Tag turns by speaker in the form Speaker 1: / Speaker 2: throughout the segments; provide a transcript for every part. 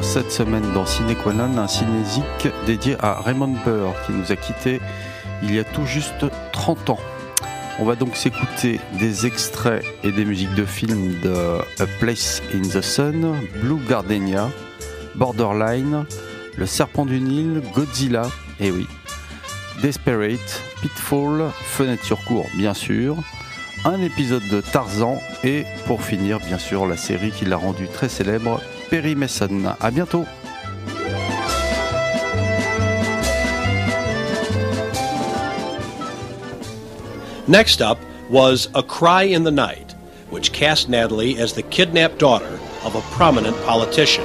Speaker 1: cette semaine dans Ciné Qua Non, un cinésique dédié à Raymond Burr qui nous a quittés il y a tout juste 30 ans. On va donc s'écouter des extraits et des musiques de films de A Place in the Sun, Blue Gardenia, Borderline, Le Serpent du Nil, Godzilla, et oui, Desperate, Pitfall, Fenêtre sur cour bien sûr, un épisode de Tarzan et pour finir bien sûr la série qui l'a rendu très célèbre, Perry Mason. À bientôt.
Speaker 2: Next up was A Cry in the Night, which cast Natalie as the kidnapped daughter of a prominent politician.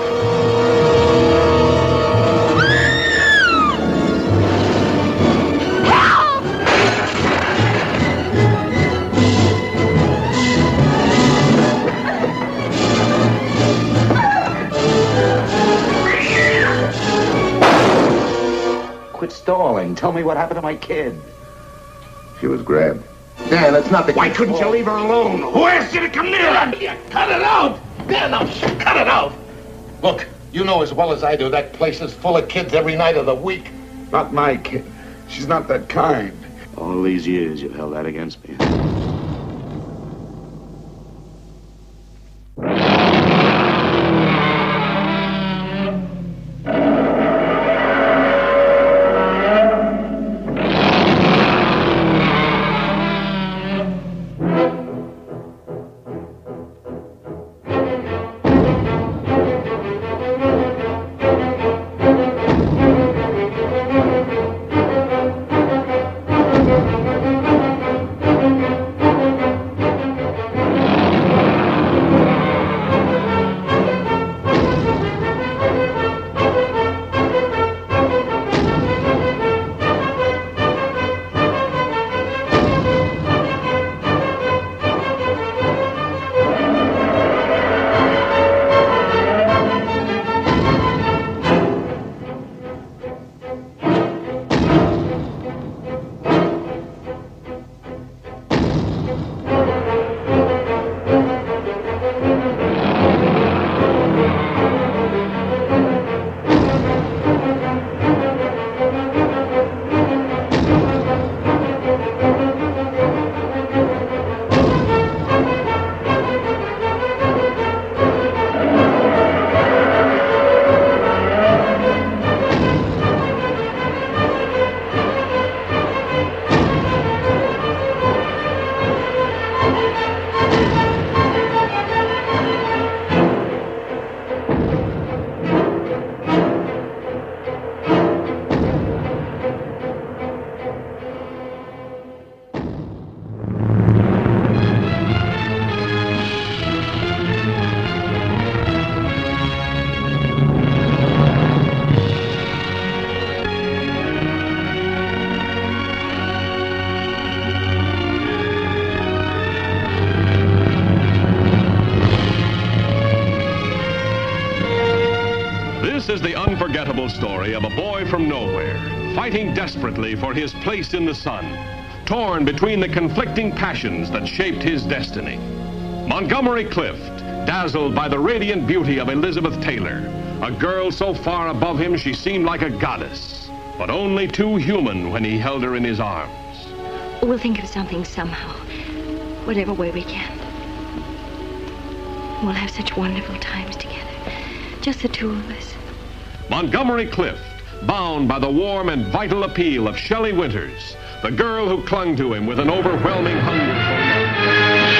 Speaker 3: Quit stalling. Tell me what happened to my kid.
Speaker 4: She was grabbed. Dan, that's not the...
Speaker 3: Why couldn't you leave her alone? Who asked you to come near her?
Speaker 4: Cut it out! Dan, now, cut it out!
Speaker 3: Look, you know as well as I do that place is full of kids every night of the week.
Speaker 4: Not my kid. She's not that kind.
Speaker 5: All these years you've held that against me.
Speaker 6: This is the unforgettable story of a boy from nowhere, fighting desperately for his place in the sun, torn between the conflicting passions that shaped his destiny. Montgomery Clift, dazzled by the radiant beauty of Elizabeth Taylor, a girl so far above him she seemed like a goddess, but only too human when he held her in his arms.
Speaker 7: We'll think of something somehow, whatever way we can. We'll have such wonderful times together, just the two of us.
Speaker 6: Montgomery Clift, bound by the warm and vital appeal of Shelley Winters, the girl who clung to him with an overwhelming hunger for love.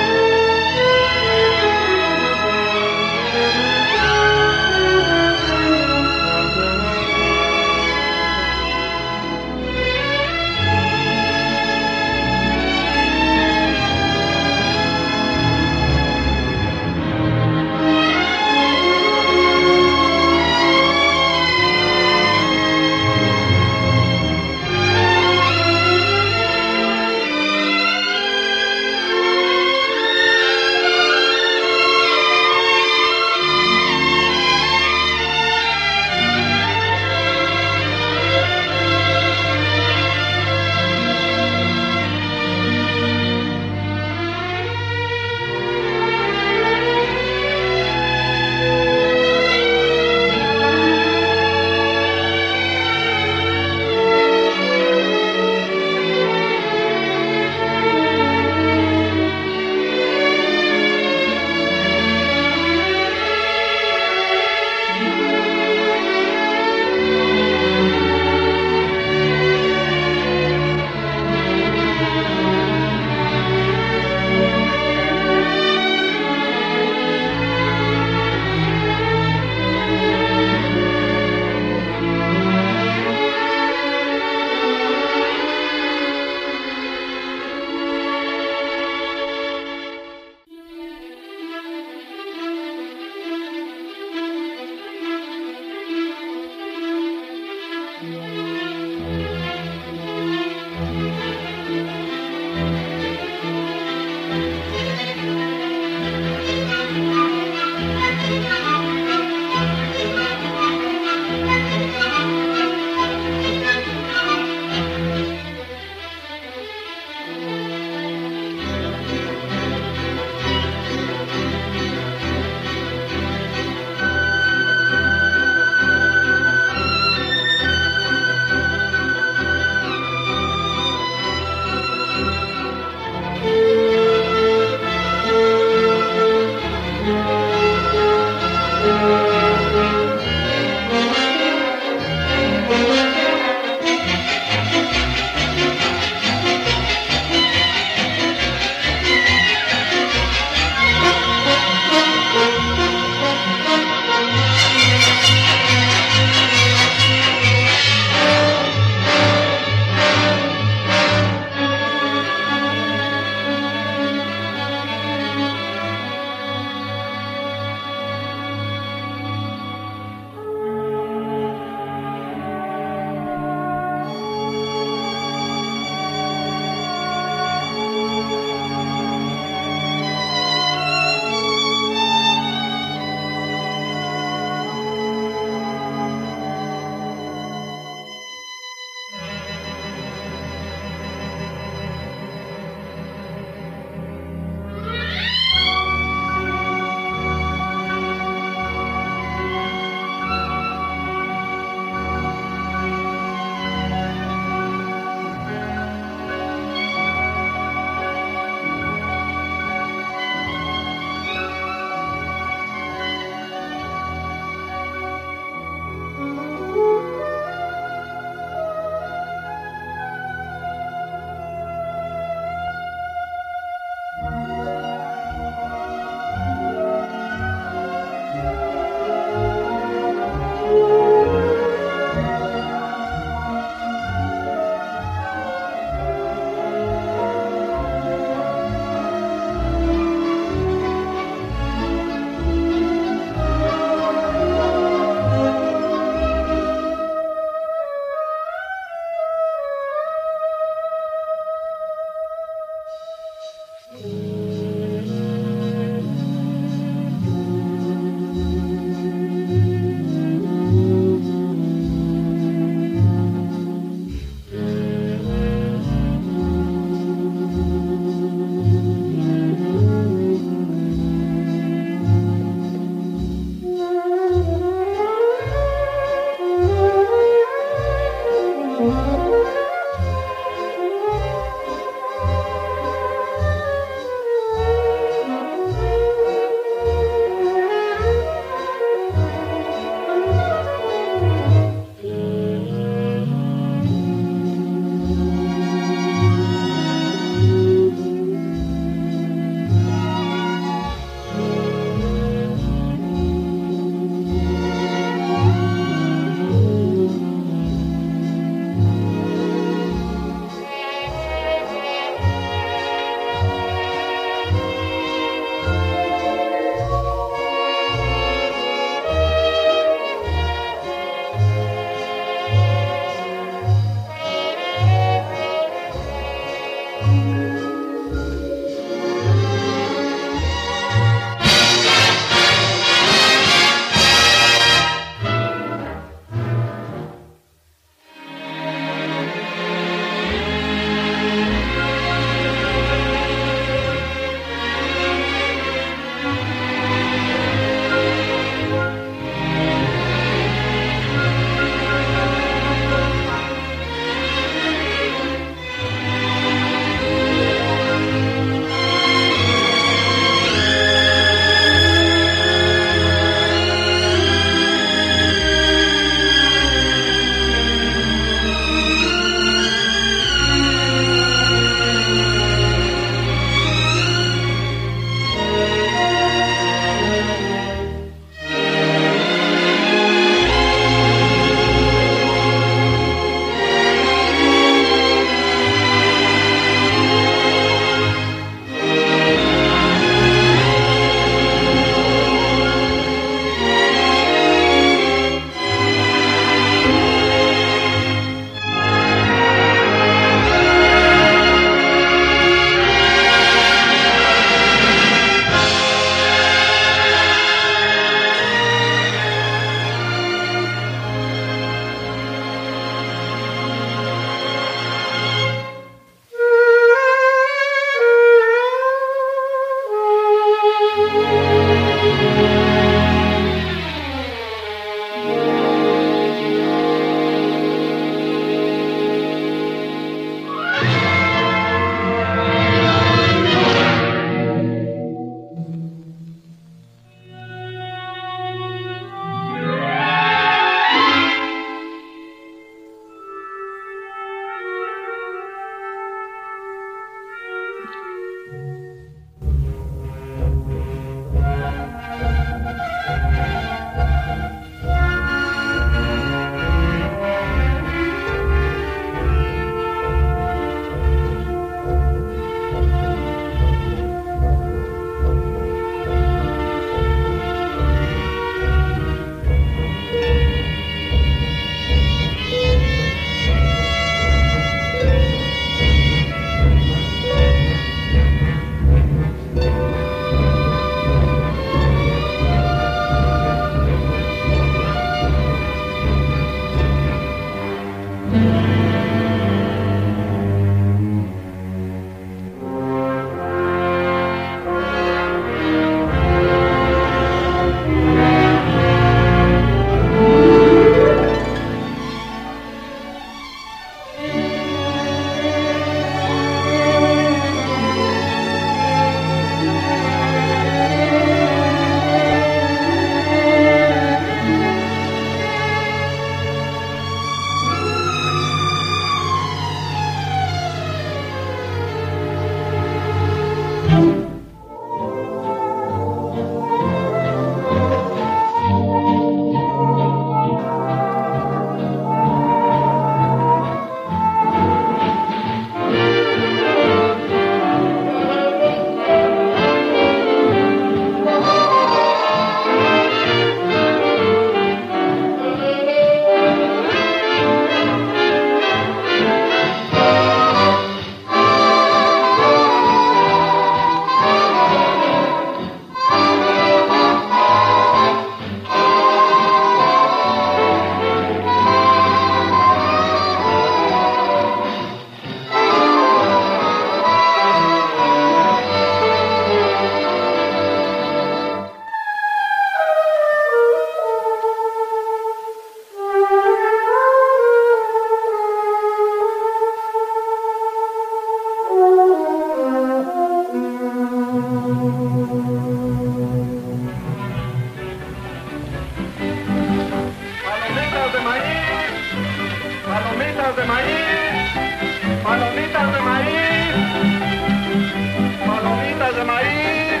Speaker 8: palomitas de maíz, palomitas de maíz, palomitas de maíz.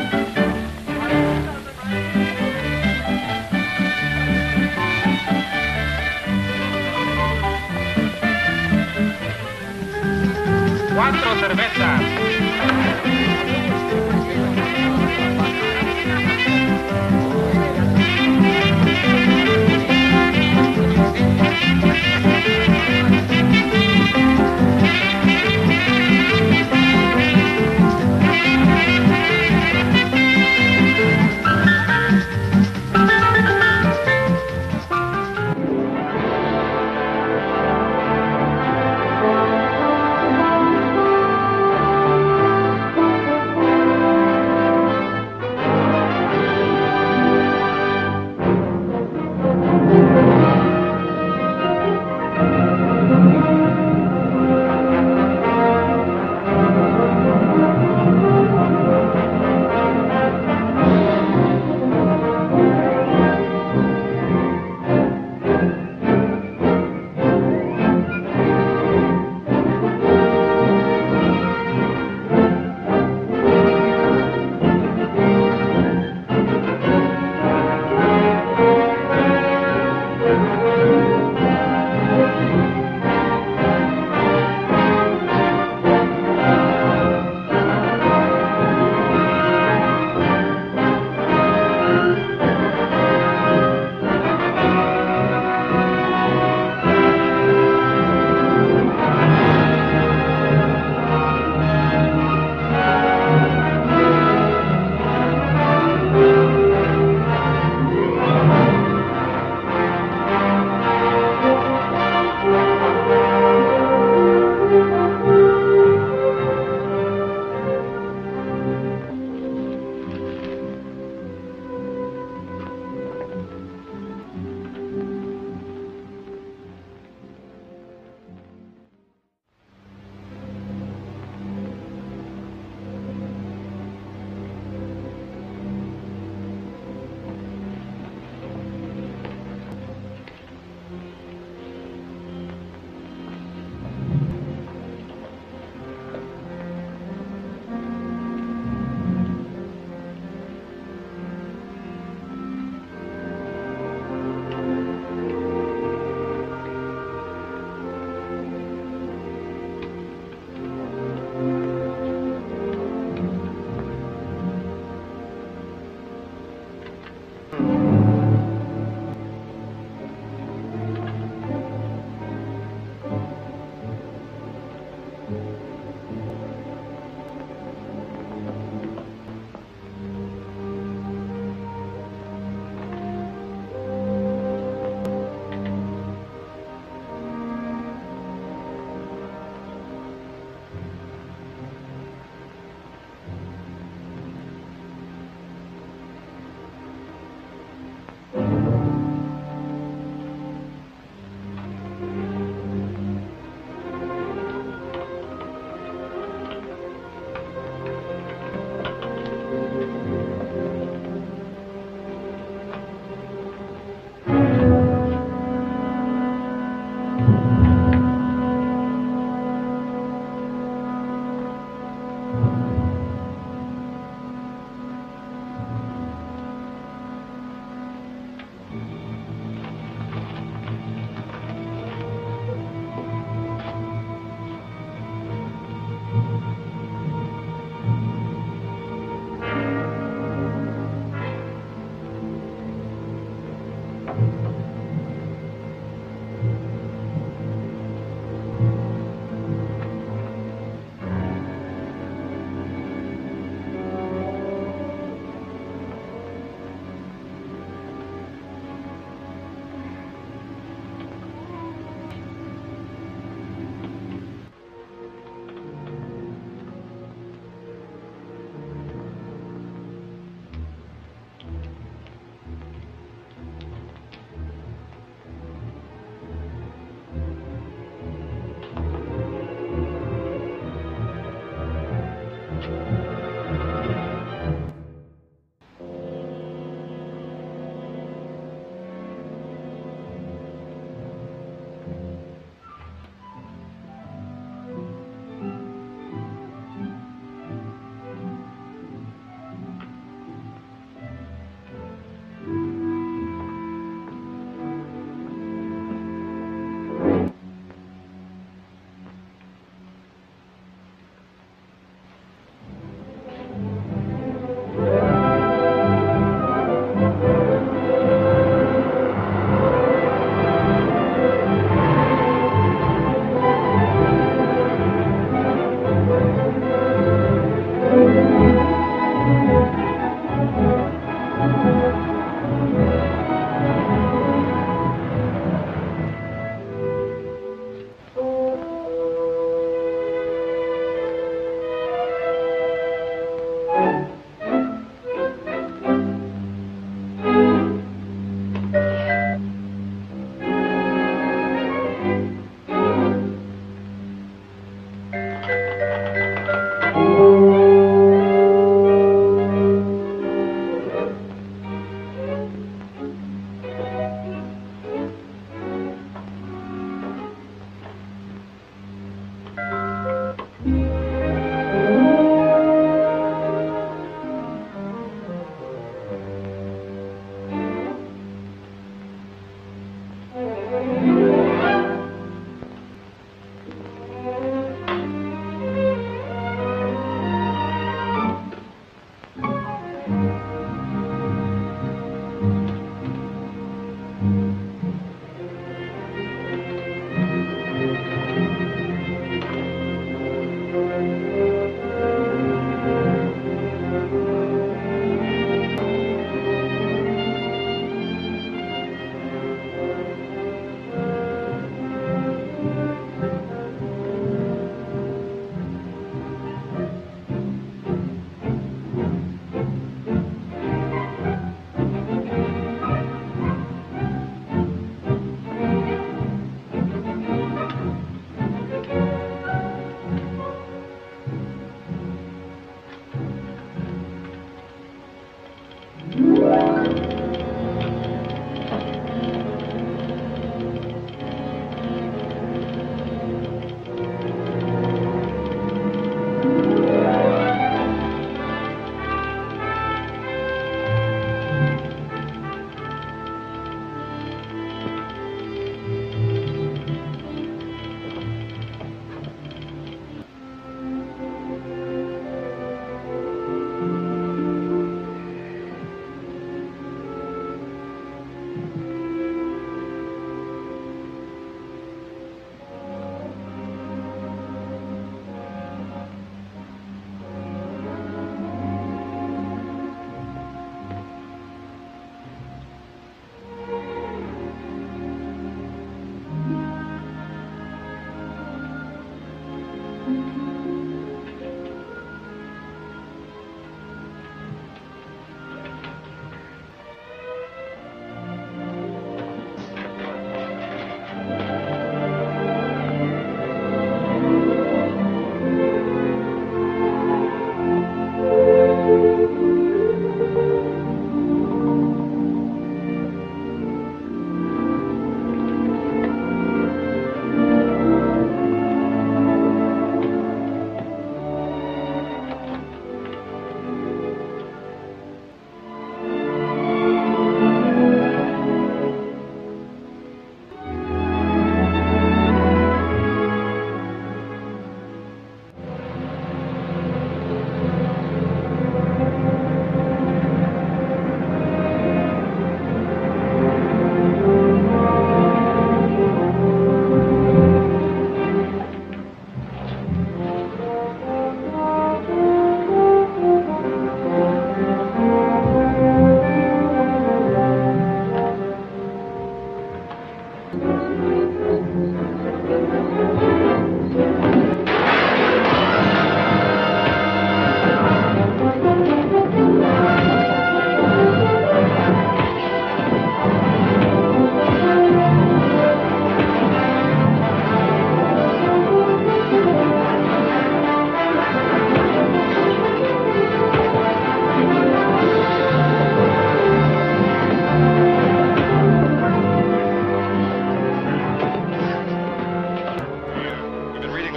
Speaker 8: Cuatro cervezas.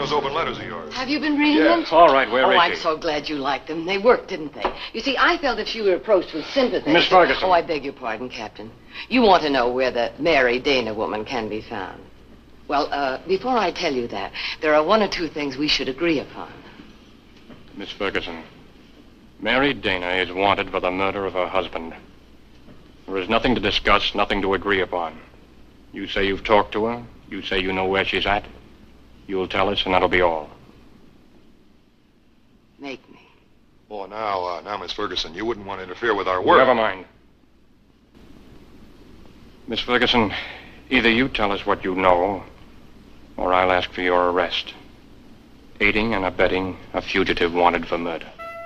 Speaker 9: those open letters of yours.
Speaker 7: Have you been reading them?
Speaker 10: All right, where is
Speaker 7: I'm
Speaker 10: she?
Speaker 7: so glad you liked them. They worked, didn't they? You see, I felt if she were approached with sympathy...
Speaker 10: Miss Ferguson.
Speaker 7: Oh, I beg your pardon, Captain. You want to know where the Mary Dana woman can be found. Well, before I tell you that, there are one or two things we should agree upon.
Speaker 10: Miss Ferguson, Mary Dana is wanted for the murder of her husband. There is nothing to discuss, nothing to agree upon. You say you've talked to her. You say you know where she's at. You'll tell us, and that'll be all.
Speaker 7: Make me.
Speaker 9: Oh, now, Miss Ferguson, you wouldn't want to interfere with our work.
Speaker 10: Never mind. Miss Ferguson, either you tell us what you know, or I'll ask for your arrest. Aiding and abetting a fugitive wanted for murder.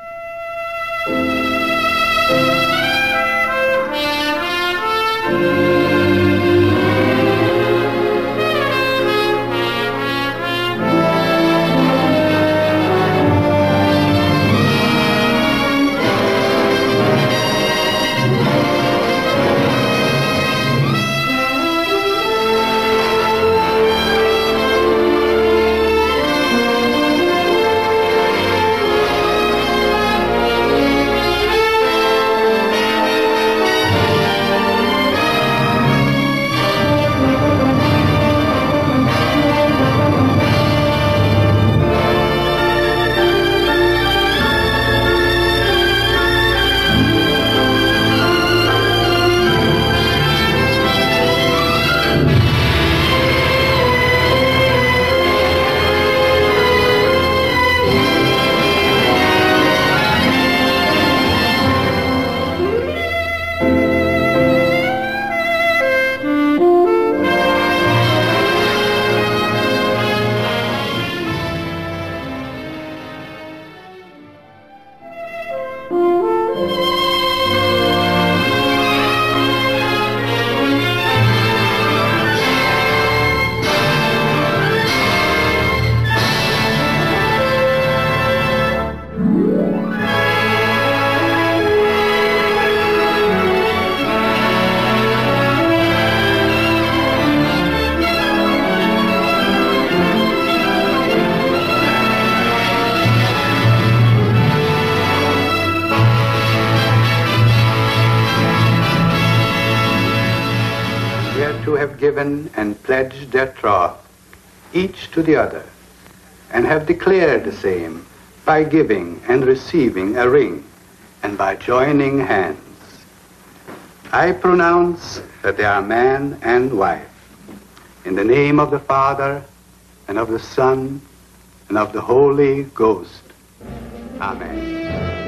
Speaker 11: Given and pledged their troth, each to the other, and have declared the same by giving and receiving a ring, and by joining hands. I pronounce that they are man and wife, in the name of the Father, and of the Son, and of the Holy Ghost. Amen.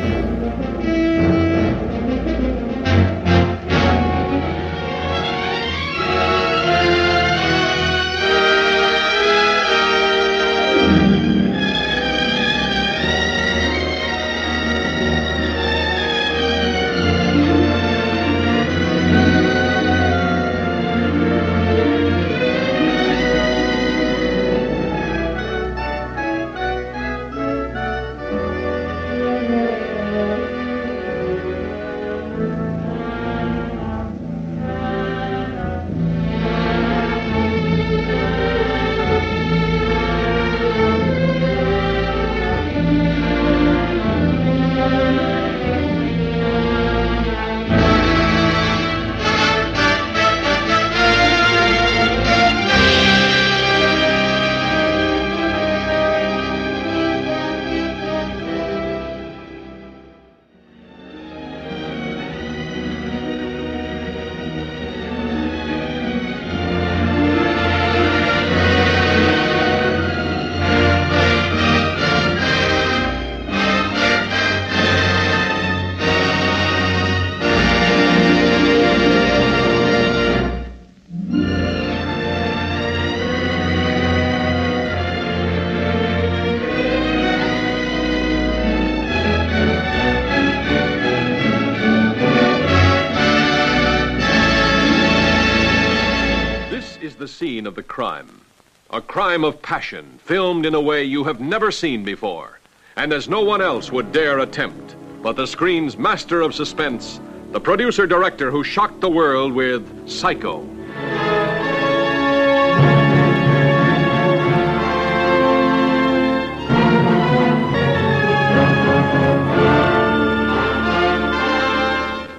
Speaker 6: Scene of the crime. A crime of passion, filmed in a way you have never seen before, and as no one else would dare attempt. But the screen's master of suspense, the producer-director who shocked the world with Psycho.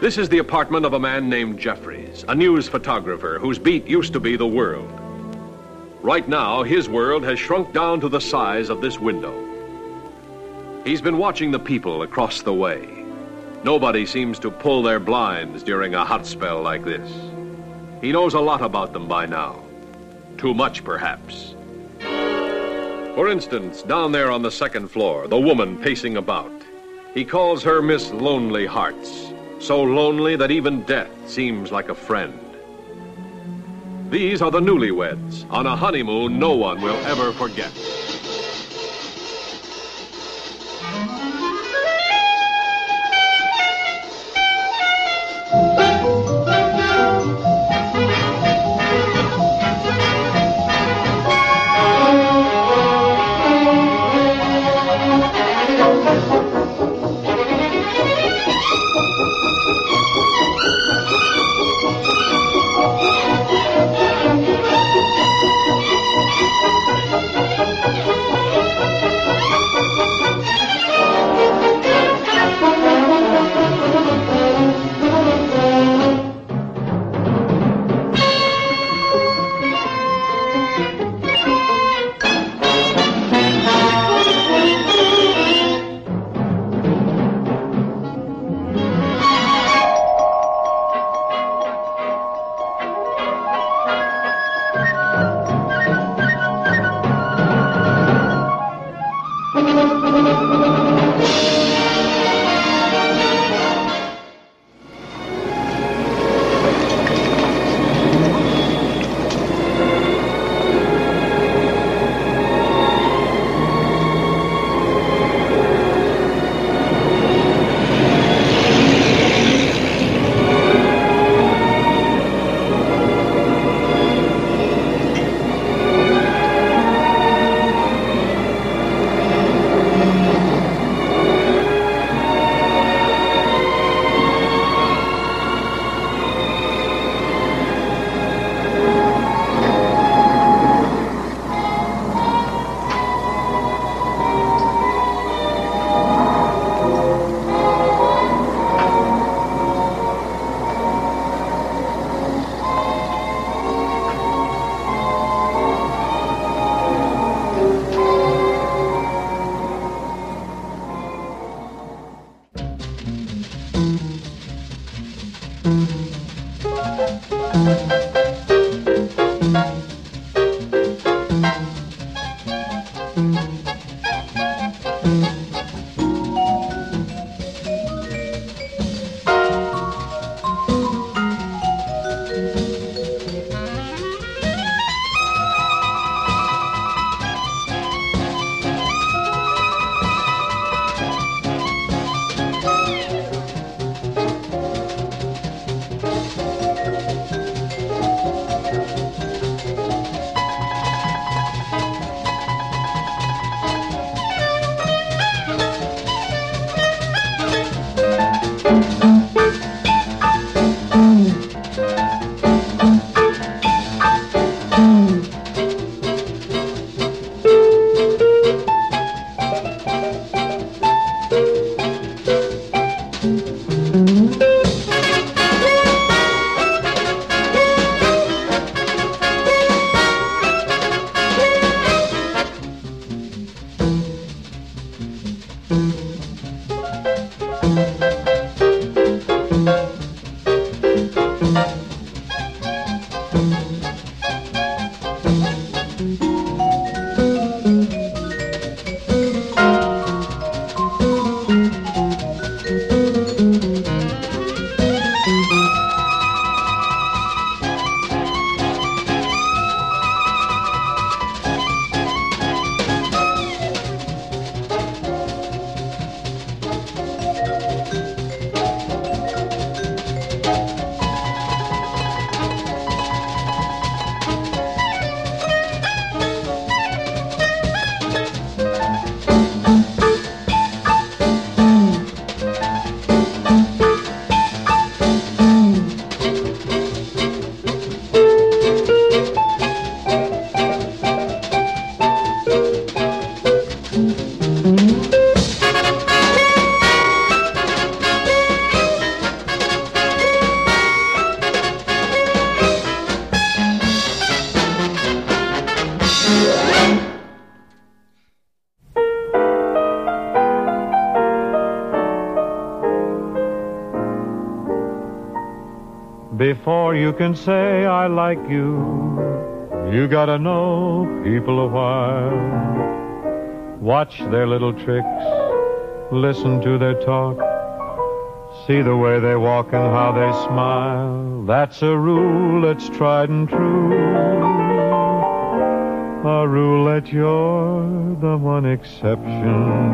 Speaker 6: This is the apartment of a man named Jeffries, a news photographer whose beat used to be the world. Right now, his world has shrunk down to the size of this window. He's been watching the people across the way. Nobody seems to pull their blinds during a hot spell like this. He knows a lot about them by now. Too much, perhaps. For instance, down there on the second floor, the woman pacing about. He calls her Miss Lonely Hearts. So lonely that even death seems like a friend. These are the newlyweds on a honeymoon no one will ever forget.
Speaker 12: Before you can say I like you, you gotta know people a while. Watch their little tricks, listen to their talk, see the way they walk and how they smile. That's a rule that's tried and true, a rule that you're the one exception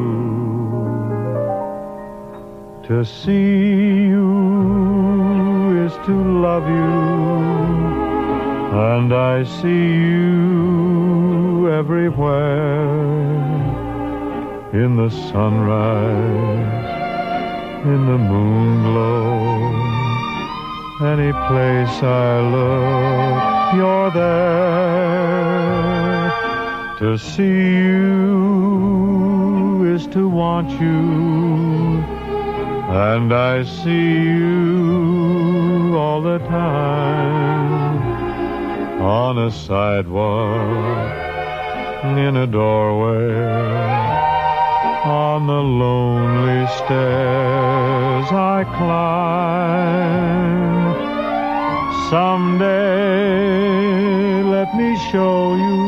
Speaker 12: to. To see you is to love you, and I see you everywhere. In the sunrise, in the moon glow, any place I look, you're there. To see you is to want you, and I see you all the time. On a sidewalk, in a doorway, on the lonely stairs I climb. Someday let me show you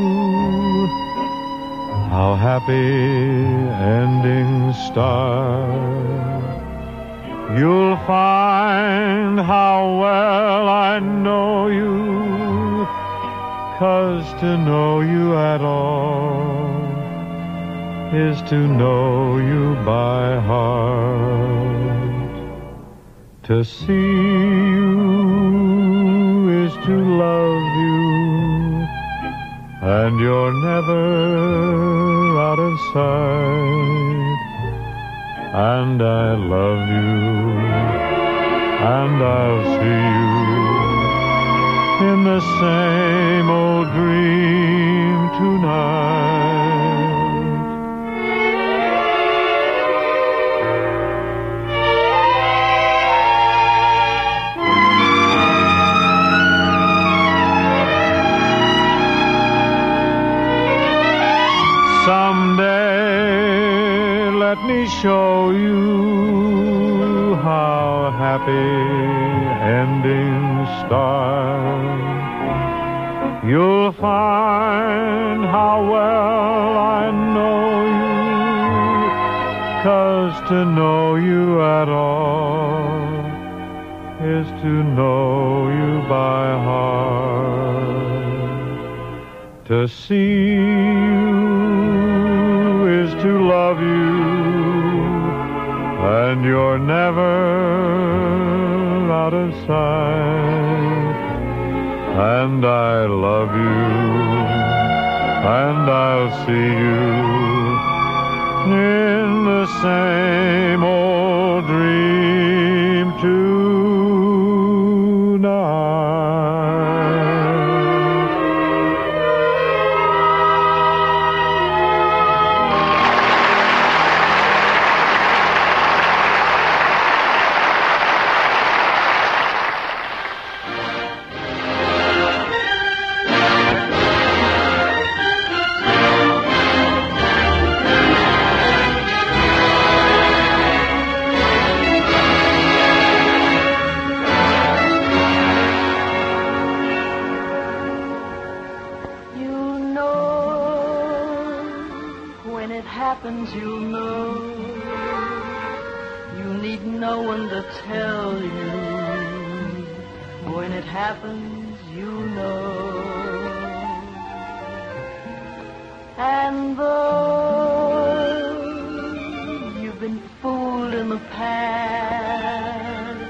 Speaker 12: how happy endings start. You'll find how well I know you, 'cause to know you at all is to know you by heart. To see you is to love you, and you're never out of sight. And I love you, and I'll see you in the same old dream tonight. Someday let me show you how happy endings start. You'll find how well I know you, 'cause to know you at all is to know you by heart. To see you is to love you, and you're never out of sight. And I love you, and I'll see you in the same old dream tonight.
Speaker 13: You'll know. You need no one to tell you. When it happens, you know. And though you've been fooled in the past,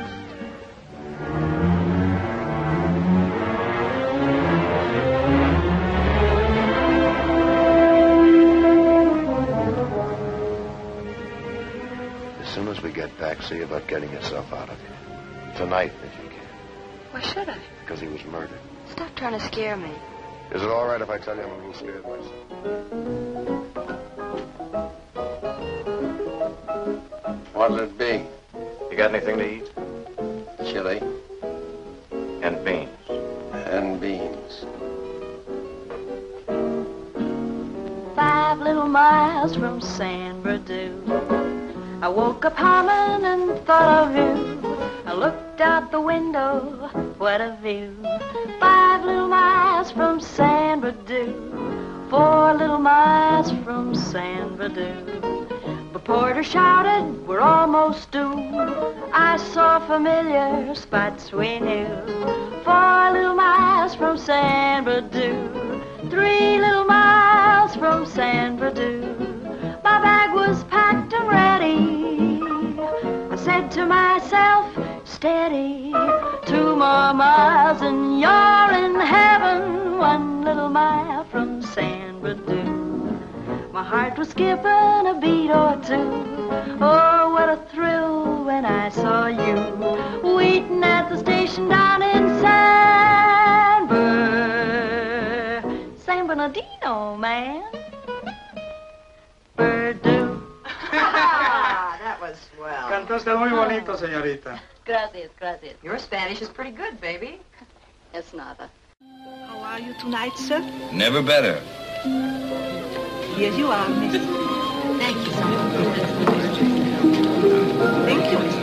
Speaker 9: as soon as we get back, see about getting yourself out of here. Tonight, if you can.
Speaker 7: Why should I?
Speaker 9: Because he was murdered.
Speaker 7: Stop trying to scare me.
Speaker 9: Is it all right if I tell you I'm a little scared myself? What'll it be?
Speaker 10: You got anything to eat?
Speaker 9: Chili.
Speaker 10: And beans.
Speaker 9: And beans.
Speaker 13: 5 little miles from San Bernardino. I woke up humming and thought of you. I looked out the window, what a view. 5 little miles from San Bernardino, 4 little miles from San Bernardino. The porter shouted, we're almost due. I saw familiar spots we knew. 4 little miles from San Bernardino, 3 little miles from San Bernardino. My bag was packed and ready. I said to myself, steady. 2 more miles and you're in heaven. 1 little mile from San Bernardino. My heart was skipping a beat or two. Oh, what a thrill when I saw you waiting at the station down in San Bernardino, man. Purdue.
Speaker 14: That was swell.
Speaker 15: Cantaste muy bonito, señorita.
Speaker 14: Gracias, gracias. Your Spanish is pretty good, baby.
Speaker 7: Es nada.
Speaker 16: How are you tonight, sir?
Speaker 17: Never better.
Speaker 16: Here you are, miss.
Speaker 14: Thank you so much.
Speaker 16: Thank you, Mr.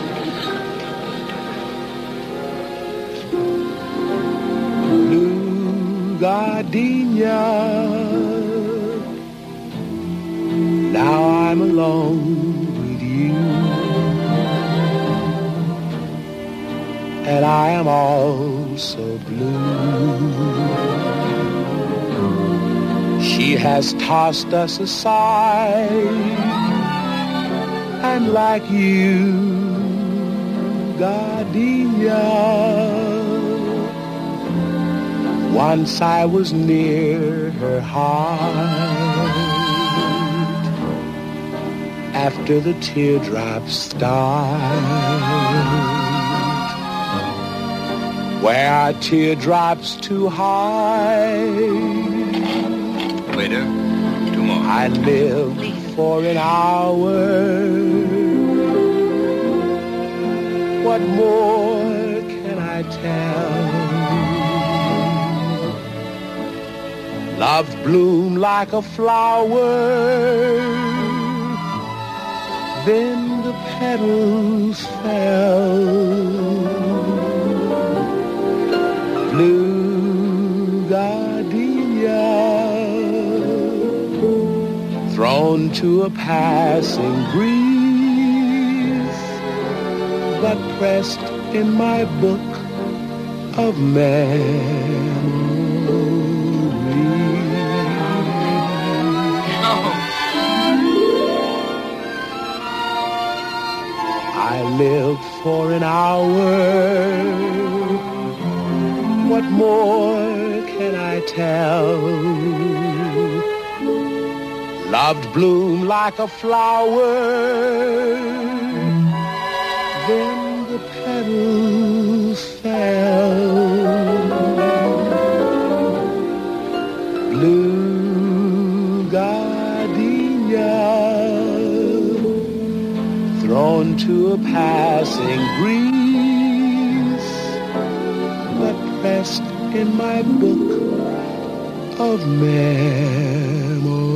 Speaker 18: Blue gardenia. Now I'm alone with you, and I am all so blue. She has tossed us aside, and like you, gardenia, once I was near her heart. After the teardrops start, where are teardrops too high?
Speaker 17: Waiter, 2 more.
Speaker 18: I live for an hour. What more can I tell? Love bloomed like a flower, then the petals fell. Blue gardenia, thrown to a passing breeze, but pressed in my book of memories. I lived for an hour. What more can I tell? Loved bloomed like a flower, then the petals fell. Blue gardenia, thrown to a passing breeze, but pressed in my book of memories.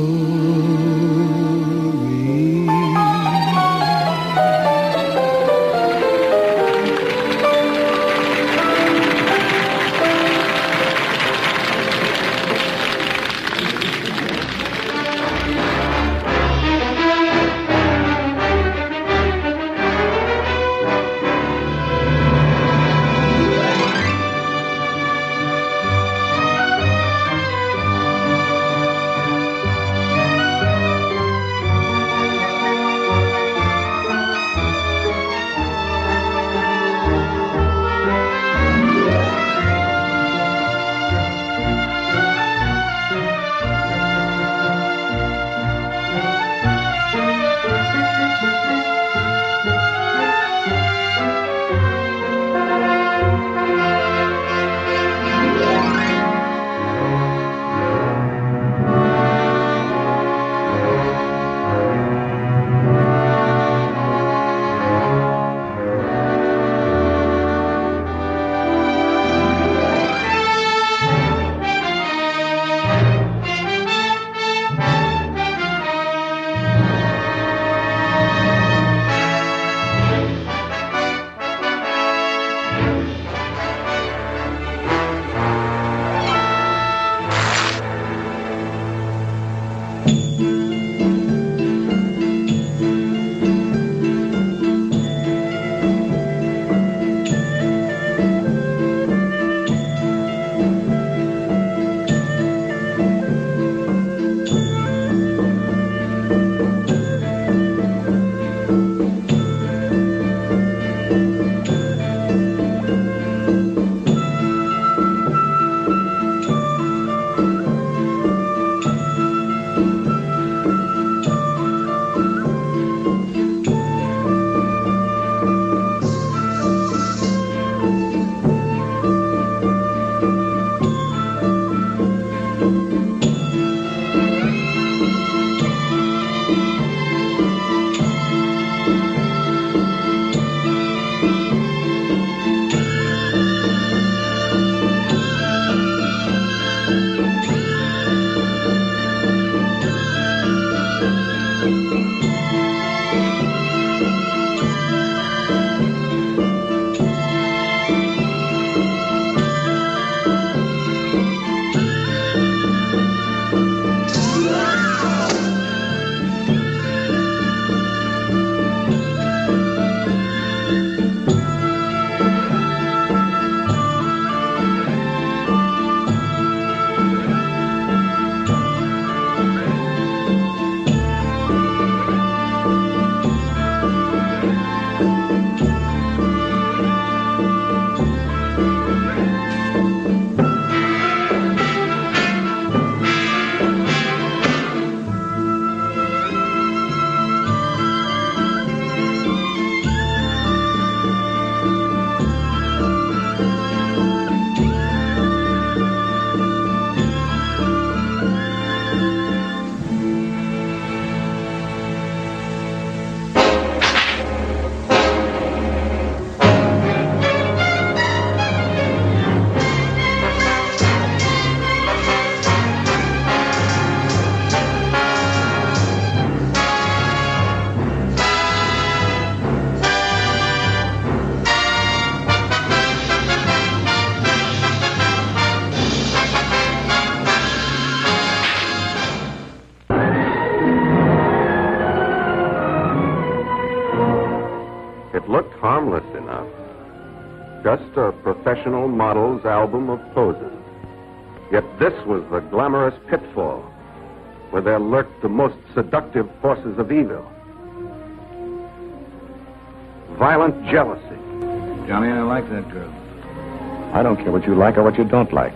Speaker 19: Looked harmless enough. Just a professional model's album of poses. Yet this was the glamorous pitfall where there lurked the most seductive forces of evil. Violent jealousy.
Speaker 17: Johnny, I like that girl.
Speaker 19: I don't care what you like or what you don't like.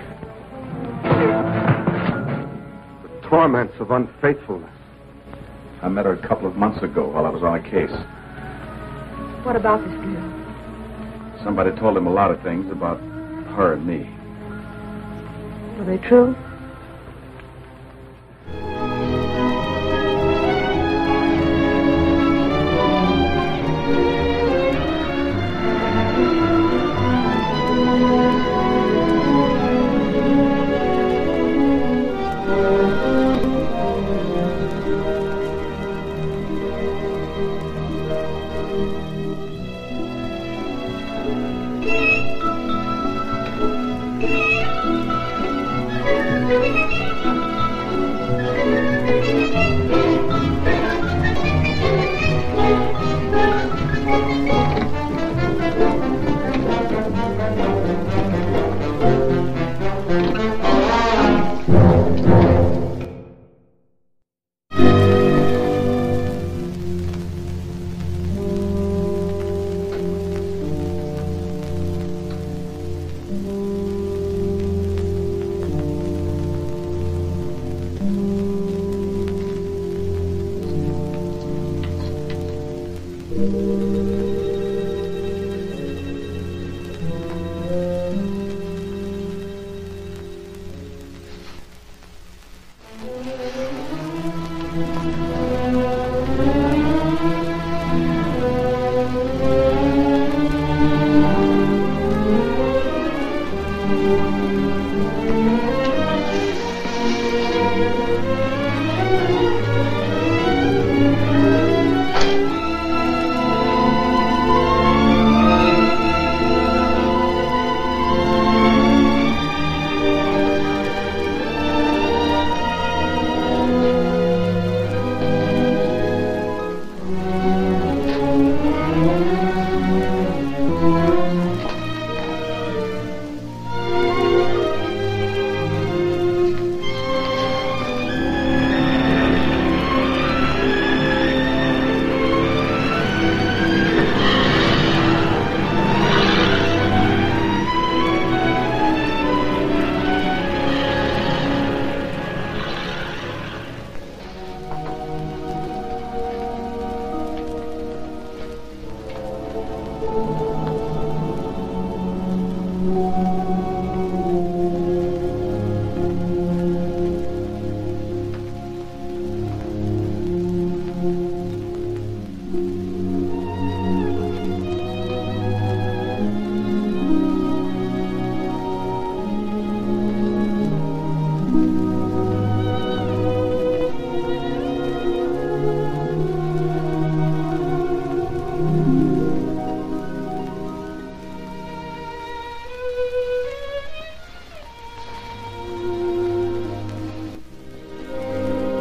Speaker 19: The torments of unfaithfulness.
Speaker 17: I met her a couple of months ago while I was on a case.
Speaker 16: What about this girl?
Speaker 17: Somebody told him a lot of things about her and me.
Speaker 16: Are they true?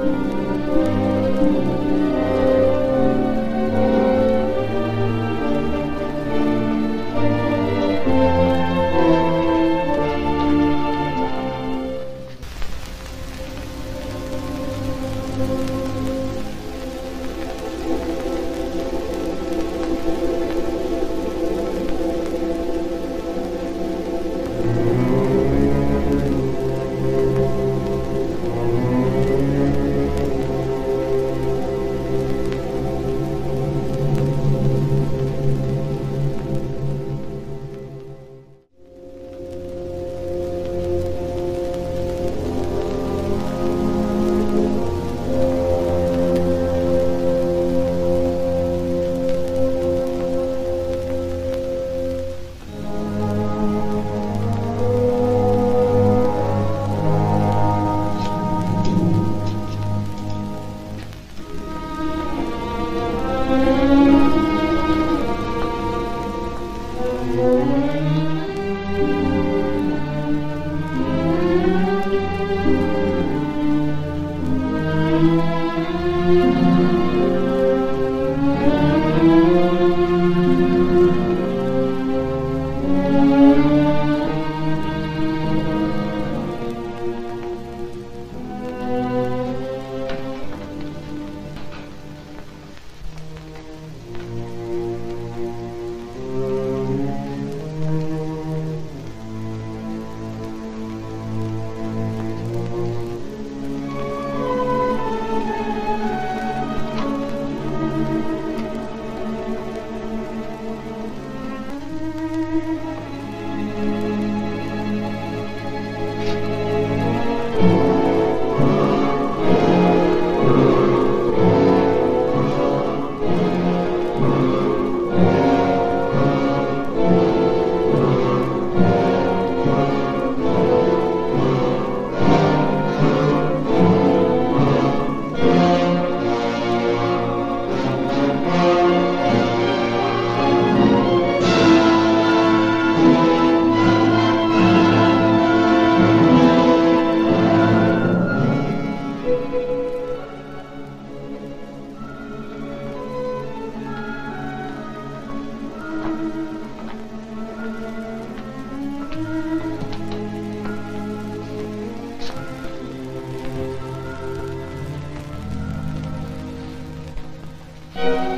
Speaker 20: Thank you.